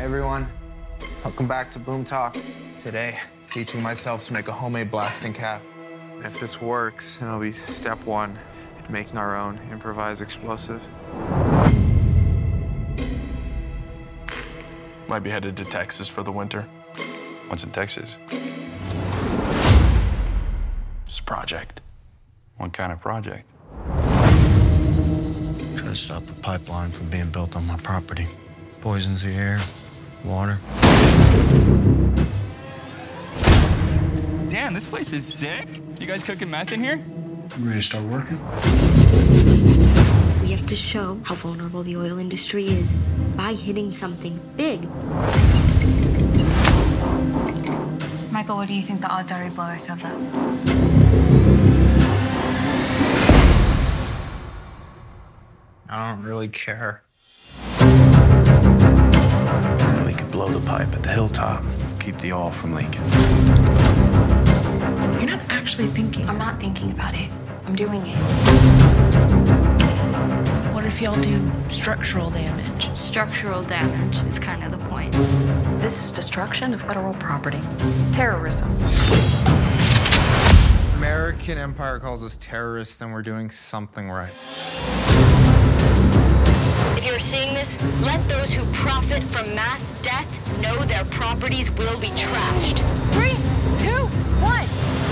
everyone. Welcome back to Boom Talk. Today, teaching myself to make a homemade blasting cap. And if this works, it'll be step one in making our own improvised explosive. Might be headed to Texas for the winter. What's in Texas? Just a project. What kind of project? Try to stop a pipeline from being built on my property. Poisons the air, water. Damn, this place is sick. You guys cooking meth in here? You ready to start working? We have to show how vulnerable the oil industry is by hitting something big. Michael, what do you think the odds are we blow ourselves up? I don't really care. We could blow the pipe at the hilltop, keep the oil from leaking. You're not actually thinking. I'm not thinking about it. I'm doing it. What if y'all do structural damage? Structural damage is kind of the point. This is destruction of federal property. Terrorism. American Empire calls us terrorists, then we're doing something right. If you're seeing this, let those who profit from mass death know their properties will be trashed. 3, 2, 1.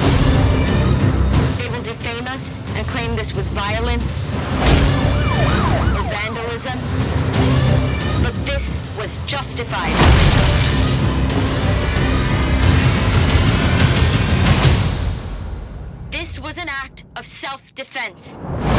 They will defame us and claim this was violence or vandalism, but this was justified. This was an act of self-defense.